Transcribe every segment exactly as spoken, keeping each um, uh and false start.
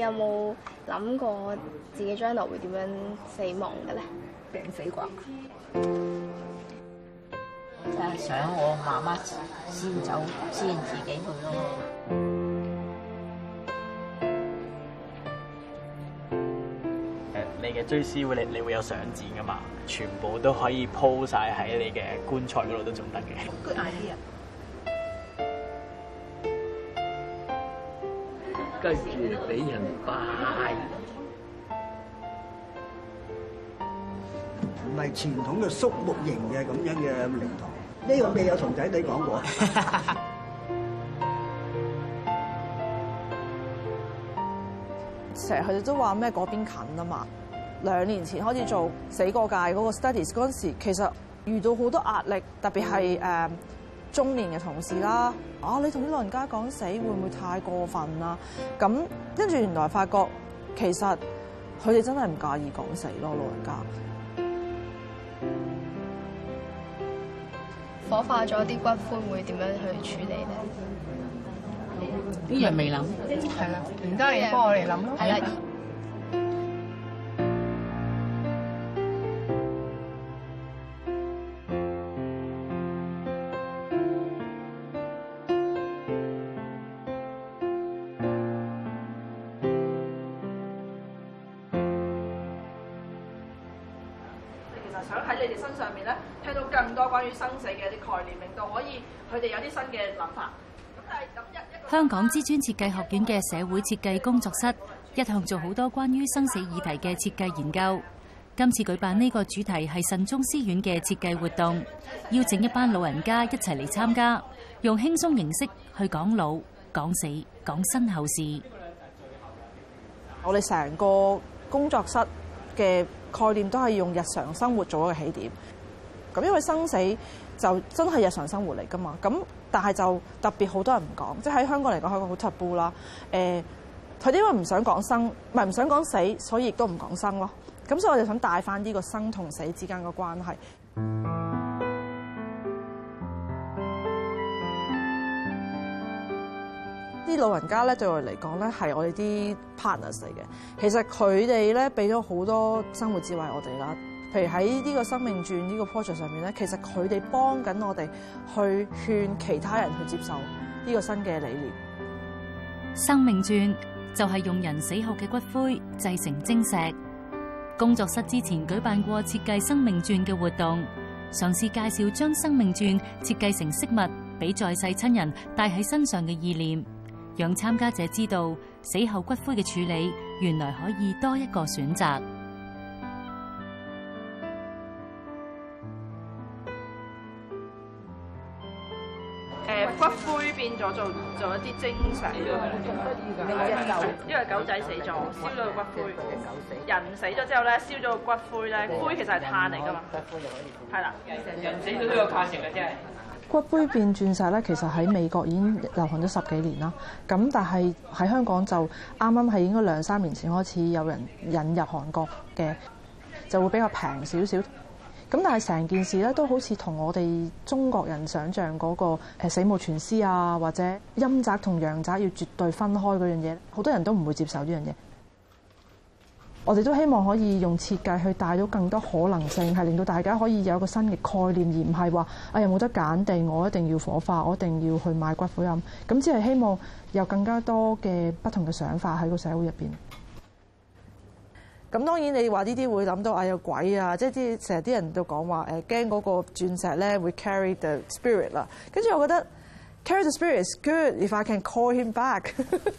有冇諗過自己將來會點樣死亡嘅咧？ 病死啩？ 就係想我媽媽先走，先自己去咯。 誒，你嘅追思會，你你會有相展噶嘛？全部都可以鋪晒喺你嘅棺材嗰度都仲得嘅。 Good idea。 跟住俾人拜， 唔係傳統嘅肅穆型嘅咁樣嘅靈堂，呢個未有同仔女講過。 成日佢哋都話咩嗰邊近啊嘛。兩年前開始做死過界嗰個 studies 嗰陣時，其實遇到好多壓力，特別係誒、呃、中年嘅同事啦。啊，你同啲老人家講死會唔會太過分啊？咁跟住原來發覺其實佢哋真係唔介意講死咯，老人家。 火化咗啲骨灰會點樣去處理咧？ 呢樣未諗， 係啦，唔得你幫我嚟諗咯。 係啦。 想喺你哋身上面咧，聽到更多關於生死嘅一啲概念，令到可以佢哋有啲新嘅諗法。咁但係咁一一個香港知專設計學院嘅社會設計工作室一向做好多關於生死議題嘅設計研究。今次舉辦呢個主題係慎終思院嘅設計活動，邀請一班老人家一齊嚟參加，用輕鬆形式去講老、講死、講身後事。 我哋成個工作室嘅概念都係用日常生活做一個起點，咁因為生死就真係日常生活嚟㗎嘛，咁但係就特別好多人唔講，即係喺香港嚟講係一個好 taboo 啦。誒，佢哋因為唔想講生，唔係唔想講死，所以亦都唔講生咯。咁所以我哋想帶翻呢個生同死之間嘅關係。啲老人家咧對我哋嚟講咧係我哋啲 partners 嚟嘅，其實佢哋咧俾咗好多生活智慧我哋啦。譬如喺呢個生命轉呢個 project 上面咧，其實佢哋幫緊我哋去勸其他人去接受呢個新嘅理念。 生命轉就係用人死後嘅骨灰製成晶石。工作室之前舉辦過設計生命轉嘅活動，嘗試介紹將生命轉設計成飾物，俾在世親人帶喺身上嘅意念，讓參加者知道死後骨灰嘅處理原來可以多一個選擇。 誒，骨灰變咗做做一啲晶石，因為狗仔死咗，燒咗個骨灰。人死咗之後咧，燒咗個骨灰咧，灰其實係碳嚟㗎嘛，係啦。 人死咗都有價值嘅，真係。 骨灰變鑽石咧，其實喺美國已經流行咗十幾年啦。咁但係喺香港就啱啱係應該兩三年前開始有人引入韓國嘅，就會比較平少少。咁但係成件事咧都好似同我哋中國人想像嗰個誒死無全屍啊，或者陰宅同陽宅要絕對分開嗰樣嘢，好多人都唔會接受呢樣嘢。我哋都希望可以用設計去帶到更多可能性，係令到大家可以有一個新嘅概念，而唔係話啊有冇得揀定，我一定要火化，我一定要去買骨灰龕。咁只係希望有更加多嘅不同嘅想法喺個社會入邊。咁當然你話呢啲會諗到啊有鬼啊，即係啲成日啲人都講話誒驚嗰個鑽石咧會 carry the spirit 啦。跟住我覺得 carry the spirit is good if I can call him back 。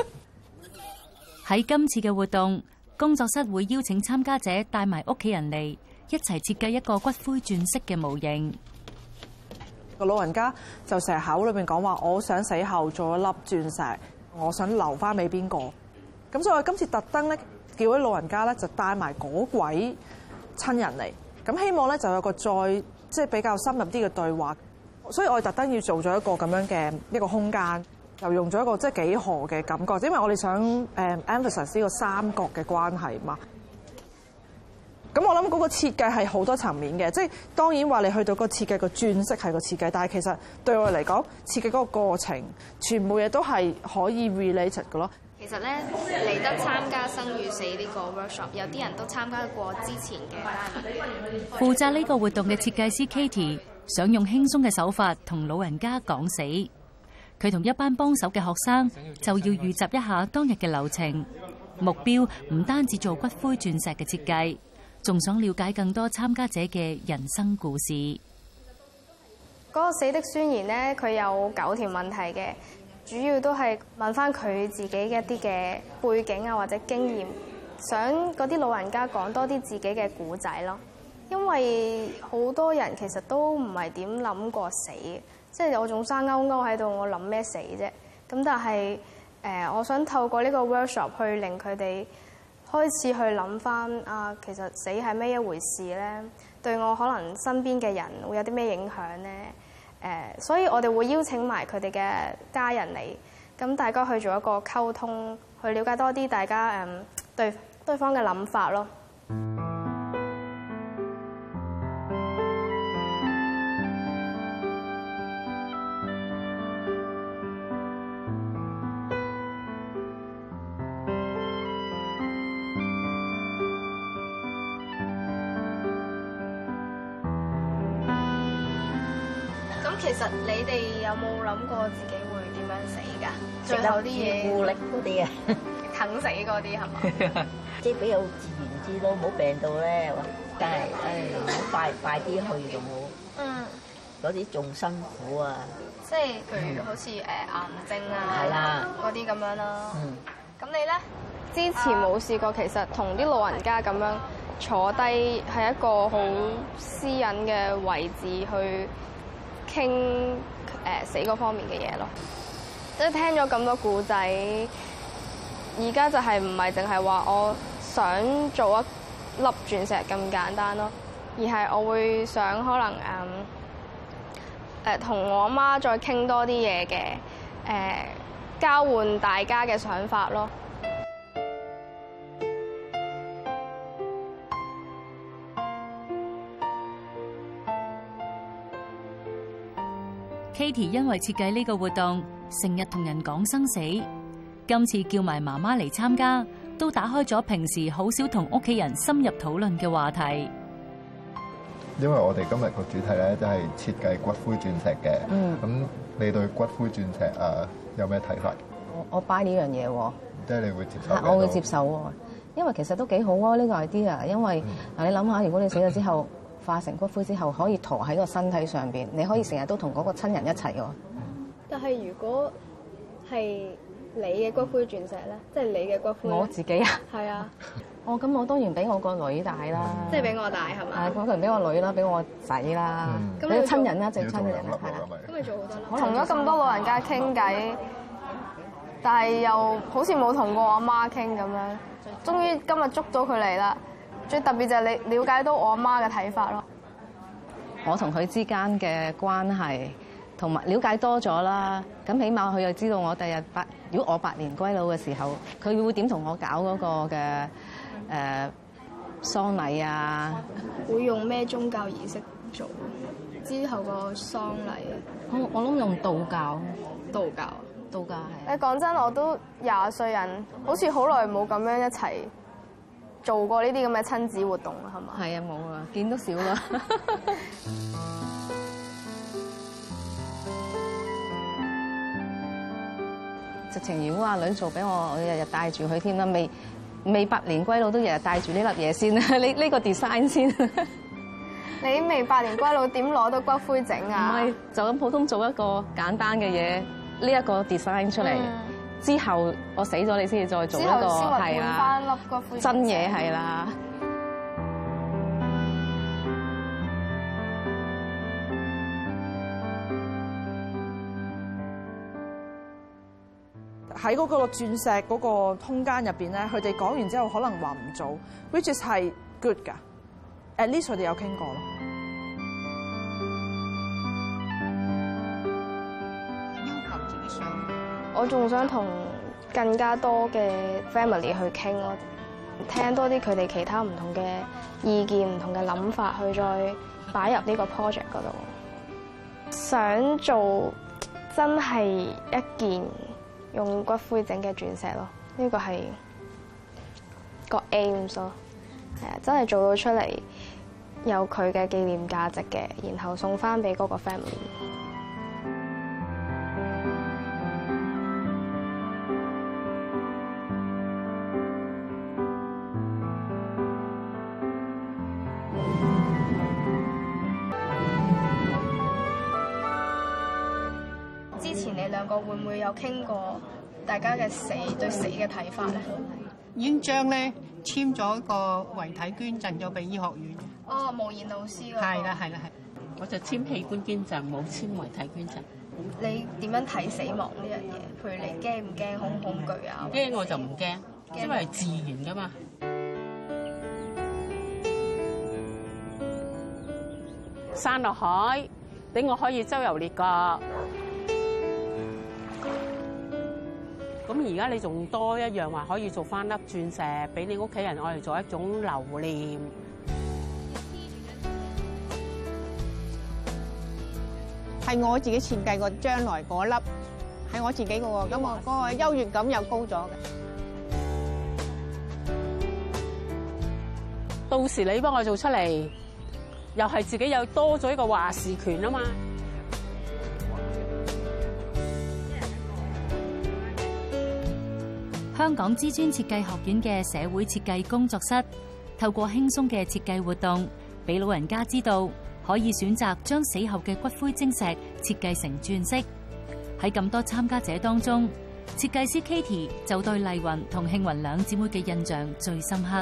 喺今次嘅活動，工作室會邀請參加者帶埋屋企人嚟，一齊設計一個骨灰鑽飾嘅模型。 個老人家就成日口裏邊講話，我想死後做一粒鑽石，我想留翻俾邊個。咁所以我今次特登咧，叫啲老人家咧就帶埋嗰位親人嚟，咁希望咧就有個再即係比較深入啲嘅對話。所以我哋特登要做咗一個咁樣嘅一個空間，又用咗一個即係幾何嘅感覺，因為我哋想誒 emphasize 呢個三角嘅關係嘛。咁我諗嗰個設計係好多層面嘅，即係當然話你去到個設計個鑽飾係個設計，但係其實對我嚟講，設計嗰個過程全部嘢都係可以 related 嘅咯。 其實咧嚟得參加生與死呢個 workshop， 有啲人都參加過之前嘅嘉年華。 負責呢個活動嘅設計師 Katie 想用輕鬆嘅手法同老人家講死。佢同一班幫手嘅學生就要預習一下當日嘅流程，目標唔單止做骨灰鑽石嘅設計，仲想了解更多參加者嘅人生故事。 嗰個死的宣言咧，佢有九條問題嘅。主要都係問翻佢自己嘅一啲嘅背景啊，或者經驗，想嗰啲老人家講多啲自己嘅故仔咯。因為好多人其實都唔係點諗過死，即係我仲生勾勾喺度，我諗咩死啫？咁但係誒、呃，我想透過呢個 workshop 去令佢哋開始去諗翻啊，其實死係咩一回事咧？對我可能身邊嘅人會有啲咩影響咧？誒，所以我哋會邀請埋佢哋嘅家人嚟，咁大家去做一個溝通，去了解多啲大家誒對對方嘅諗法咯。其實你哋有冇諗過自己會點樣死㗎？最後啲嘢， 固力嗰啲啊， 等死嗰啲係嘛？ 即係比較自然啲咯，冇病到咧，但係誒好快快啲去就冇。嗯。嗰啲仲辛苦啊！ 即係譬如好似誒癌症啊， 係啦， 嗰啲咁樣啦。 嗯。 咁你咧？之前冇試過，其實同啲老人家咁樣坐低係一個好私隱嘅位置去傾誒死嗰方面嘅嘢咯，即係聽咗咁多故仔，而家就係唔係淨係話我想做一粒鑽石咁簡單咯，而係我會想可能誒誒同我媽再傾多啲嘢嘅，誒交換大家嘅想法咯。 Katie 因為設計呢個活動，成日同人講生死。今次叫埋媽媽嚟參加，都打開咗平時好少同屋企人深入討論嘅話題。 因為我哋今日個主題咧，就係設計骨灰鑽石嘅。嗯。咁你對骨灰鑽石啊有咩睇法？ 我我 buy 呢樣嘢喎。 即係你會接受？ 我會接受喎，因為其實都幾好啊呢個 idea。因為嗱，你諗下，如果你死咗之後，化成骨灰之後，可以馱喺個身體上邊，你可以成日都同嗰個親人一齊喎。 但係如果係你嘅骨灰鑽石咧，即係你嘅骨灰， 我自己啊， 係啊。 哦，咁我當然俾我個女大啦， 即係俾我大係嘛？ 係，我當然俾我女啦，俾我仔啦，俾個親人啦，最親嘅人啦，係啦。 咁咪做好多啦。我同咗咁多老人家傾偈，但係又好似冇同過我阿媽傾咁樣。終於今日捉到佢嚟啦！最特別就係你了解到我阿媽嘅睇法咯。 我同佢之間嘅關係，同埋了解多咗啦。咁起碼佢又知道我第日百，如果我百年歸老嘅時候，佢會點同我搞嗰個嘅誒喪禮啊？ 會用咩宗教儀式做？之後個喪禮， 我我諗用道教。 道教， 道教係。 誒講真，我都廿歲人，好似好耐冇咁樣一齊做過呢啲咁嘅親子活動啦，係嘛？ 係啊，冇啊，見都少啦。直情如果阿女做俾我，我日日帶住佢添啦，未未百年歸老都日日帶住呢粒嘢先啦，呢呢個 design 先。 你未百年歸老點攞到骨灰整啊？ 唔係，就咁普通做一個簡單嘅嘢，呢一個 design 出嚟。嗯之後我死咗，你先至再做一個係啦，真嘢係啦。 喺嗰個鑽石嗰個空間入邊咧，佢哋講完之後可能話唔做 ，which is 係 good 㗎。At least 佢哋有傾過咯。 我仲想同更加多嘅 family 去傾咯，聽多啲佢哋其他唔同嘅意見、唔同嘅諗法，去再擺入呢個 project 嗰度。想做真係一件用骨灰整嘅鑽石咯， 呢個係個 aim 咯，係啊，真係做到出嚟有佢嘅紀念價值嘅，然後送翻俾嗰個 family。之前你兩個會唔會有傾過大家嘅死對死嘅睇法咧？ 已經將咧簽咗個遺體捐贈咗俾醫學院。 哦，無言老師嗰個。 係啦，係啦，係。我就簽器官捐贈，冇簽遺體捐贈。 你點樣睇死亡呢樣嘢？譬如你驚唔驚、恐唔恐懼啊？ 驚我就唔驚，因為係自然噶嘛。山落海，俾我可以周遊列國。咁而家你仲多一樣話，可以做翻粒鑽石俾你屋企人，我嚟做一種留念。係我自己設計個將來嗰粒，係我自己個喎，咁我嗰個優越感又高咗嘅。到時你幫我做出嚟，又係自己又多咗一個話事權啊嘛。 香港知專設計學院嘅社會設計工作室，透過輕鬆嘅設計活動，俾老人家知道可以選擇將死後嘅骨灰晶石設計成鑽飾。喺咁多參加者當中，設計師 Katie 就對麗雲同慶雲兩姊妹嘅印象最深刻。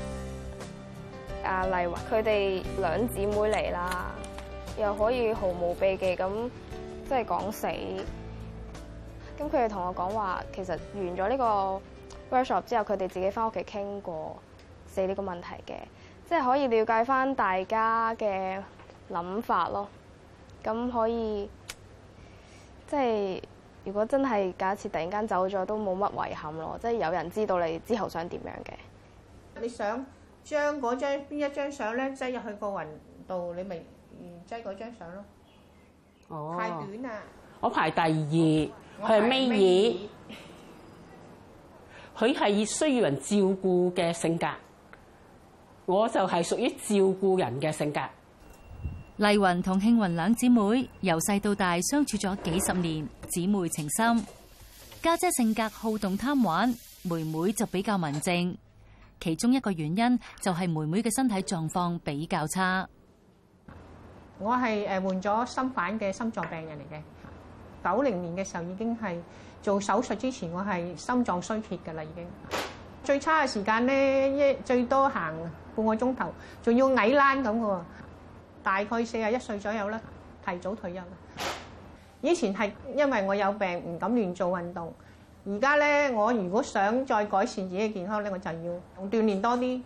阿麗雲佢哋兩姊妹嚟啦，又可以毫無避忌咁即係講死。咁佢哋同我講話，其實完咗呢個 workshop 之後，佢哋自己翻屋企傾過死呢個問題嘅，即係可以了解翻大家嘅諗法咯。咁可以即係如果真係假設突然間走咗，都冇乜遺憾咯。即係有人知道你之後想點樣嘅。 你想將嗰張邊一張相咧擠入去個雲度，你咪擠嗰張相咯。哦，太短啦！我排第二。佢係尾二，佢係需要人照顧嘅性格，我就係屬於照顧人嘅性格。 麗雲同慶雲兩姊妹由細到大相處咗幾十年，姊妹情深。家姐性格好動貪玩，妹妹就比較文靜。其中一個原因就係妹妹嘅身體狀況比較差。 我係誒換咗心瓣嘅心臟病人嚟嘅。九零年嘅時候已經係做手術之前，我係心臟衰竭㗎啦，已經最差嘅時間咧，一最多行半個鐘頭，仲要矮欄咁嘅喎。大概四十一歲左右啦，提早退休啦。以前係因為我有病唔敢亂做運動，而家咧我如果想再改善自己嘅健康咧，我就要鍛鍊多啲。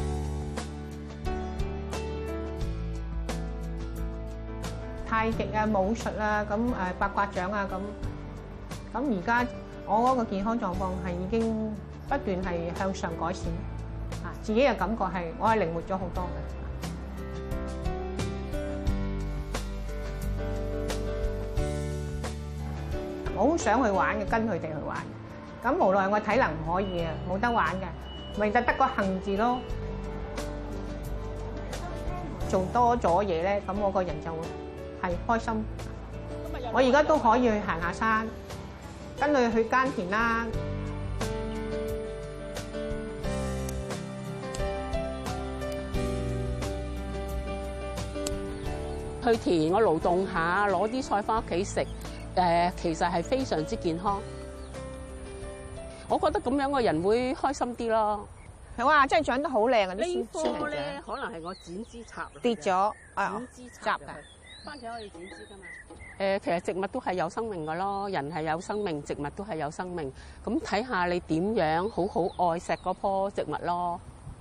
太極啊、武術啊、咁誒八卦掌啊，咁咁而家我嗰個健康狀況係已經不斷係向上改善，啊，自己嘅感覺係我係靈活咗好多嘅。我好想去玩嘅，跟佢哋去玩，咁無奈我體能唔可以啊，冇得玩嘅，咪就得個幸字咯。做多咗嘢咧，咁我個人就會係開心，我而家都可以去行下山，跟佢去耕田啦。去田我勞動下，攞啲菜翻屋企食，誒，其實係非常之健康。我覺得咁樣個人會開心啲咯。哇！真係長得好靚啊！呢棵咧，可能係我剪枝插跌咗，剪枝插㗎。番茄可以剪枝㗎嘛？誒，其實植物都係有生命㗎咯，人係有生命，植物都係有生命。咁睇下你點樣好好愛錫嗰棵植物咯。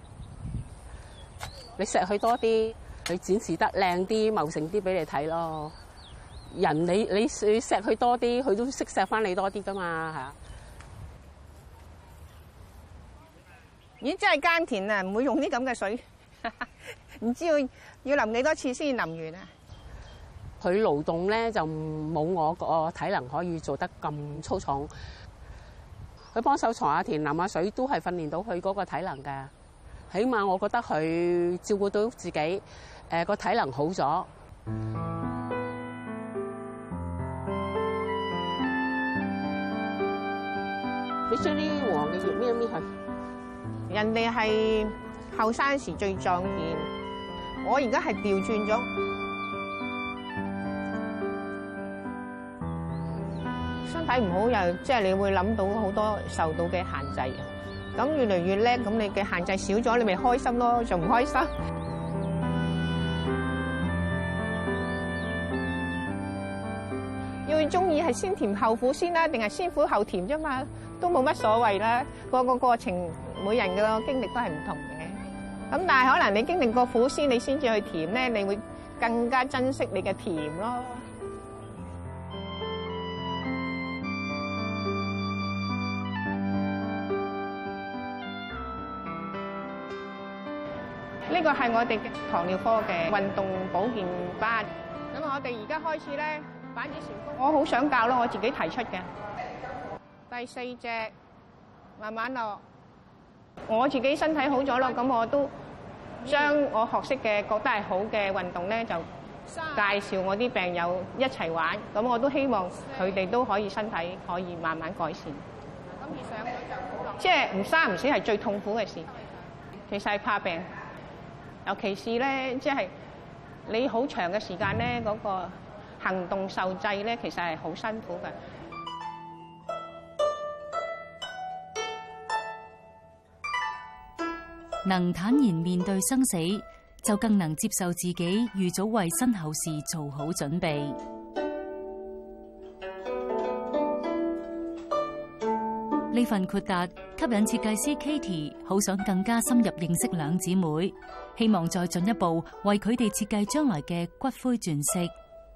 你錫佢多啲，佢展示得靚啲、茂盛啲俾你睇咯。人你你你錫佢多啲，佢都識錫翻你多啲㗎嘛嚇。咦！真係耕田啊，唔會用啲咁嘅水，唔知要要淋幾多次先淋完啊？佢勞動咧就冇我個體能可以做得咁粗重， 佢幫手鋤下田、淋下水，都係訓練到佢嗰個體能㗎。起碼我覺得佢照顧到自己，誒個體能好咗。你將啲黃嘅葉搣一搣佢。人哋係後生時最壯健，我而家係調轉咗。身體唔好又即係你會諗到好多受到嘅限制嘅。咁越嚟越叻，咁你嘅限制少咗，你咪開心咯，仲唔開心？要中意係先甜後苦先啦，定係先苦後甜啫嘛，都冇乜所謂啦。個個過程每人嘅經歷都係唔同嘅。咁但係可能你經歷過苦先，你先至去甜咧，你會更加珍惜你嘅甜咯。呢個係我哋嘅糖尿科嘅運動保健班。咁我哋而家開始咧，板子旋風，我好想教咯，我自己提出嘅。第四隻慢慢落，我自己身體好咗咯，咁我都將我學識嘅覺得係好嘅運動咧，就介紹我啲病友一齊玩。咁我都希望佢哋都可以身體可以慢慢改善。咁而上咗就好落，即係唔生唔死係最痛苦嘅事，其實係怕病。尤其是咧，即係你好長嘅時間咧，嗰個行動受制咧，其實係好辛苦嘅。 能坦然面對生死，就更能接受自己預早為身後事做好準備。呢份豁達吸引設計師 Katie 好想更加深入認識兩姊妹，希望再進一步為佢哋設計將來嘅骨灰鑽飾。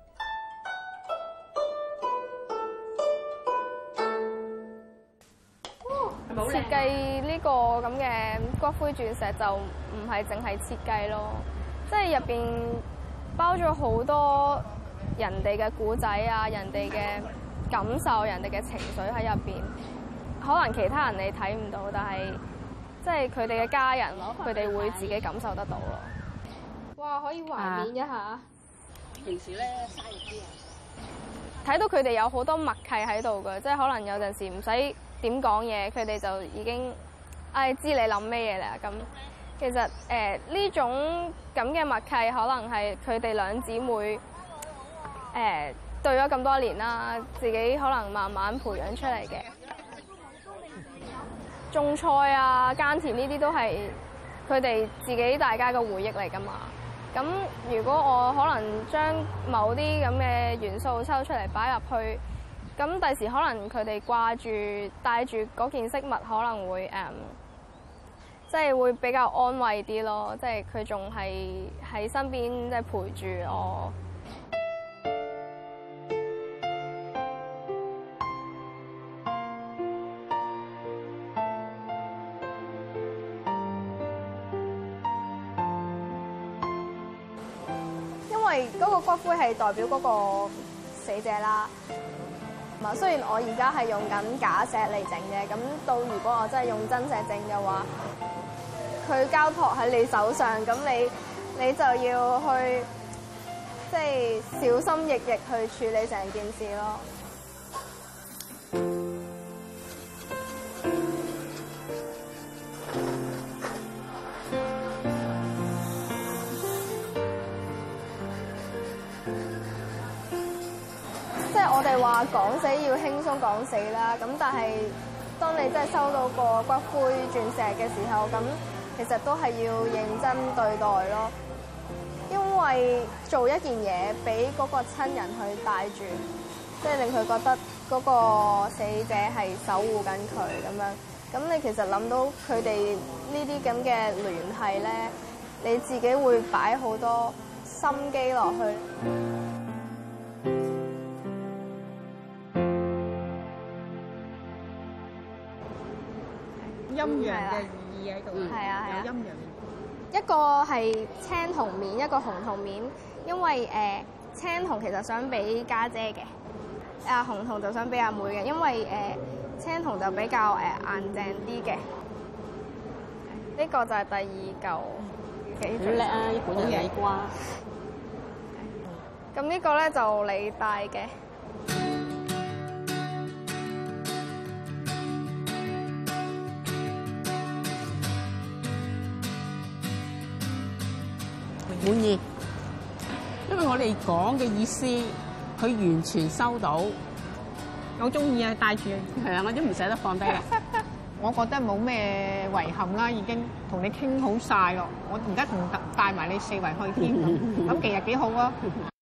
設計呢個咁嘅骨灰鑽石就唔係淨係設計咯，即係入邊包咗好多人哋嘅故仔啊，人哋嘅感受，人哋嘅情緒喺入邊。可能其他人你睇唔到，但係即係佢哋嘅家人，佢哋會自己感受得到咯。哇！可以懷緬一下。啊、 平時咧嘥力啲啊！ 睇到佢哋有好多默契喺度嘅，即係可能有陣時唔使點講嘢，佢哋就已經唉、哎、知你諗咩嘢啦。咁其實誒呢、呃、種咁嘅默契，可能係佢哋兩姊妹誒、呃、對咗咁多年啦，自己可能慢慢培養出嚟嘅。種菜啊、耕田呢啲都係佢哋自己大家嘅回憶嚟㗎嘛。咁如果我可能將某啲咁嘅元素抽出嚟擺入去，咁第時可能佢哋掛住帶住嗰件飾物，可能會誒，即係會比較安慰啲咯。即係佢仲係喺身邊，即係陪住我。因為嗰個骨灰係代表嗰個死者啦。咁雖然我而家係用緊假石嚟整嘅，咁到如果我真係用真石整嘅話，佢交託喺你手上，咁你你就要去即係小心翼翼去處理成件事咯。我哋話講死要輕鬆講死啦，咁但係當你真係收到個骨灰鑽石嘅時候，咁其實都係要認真對待咯。因為做一件嘢俾嗰個親人去帶住，即係令佢覺得嗰個死者係守護緊佢咁樣。咁你其實諗到佢哋呢啲咁嘅聯繫咧，你自己會擺好多心機落去。 陰陽嘅意義喺度， 係啊係啊， 有陰陽。 一個係青銅面，一個紅銅面，因為誒、呃、青銅其實想俾家姐嘅，阿紅銅就想俾阿妹嘅，因為誒、呃、 青銅就比較誒硬淨啲嘅。呢、這個就係第二嚿幾好叻啊！呢本有矮瓜。 咁呢個咧就你戴嘅。 滿意，因為我哋講嘅意思，佢完全收到。 我中意啊，戴住。 係啊，我都唔捨得放低啦。 我覺得冇咩遺憾啦，已經同你傾好晒咯。我而家仲帶埋你四圍去添，咁其實幾好啊。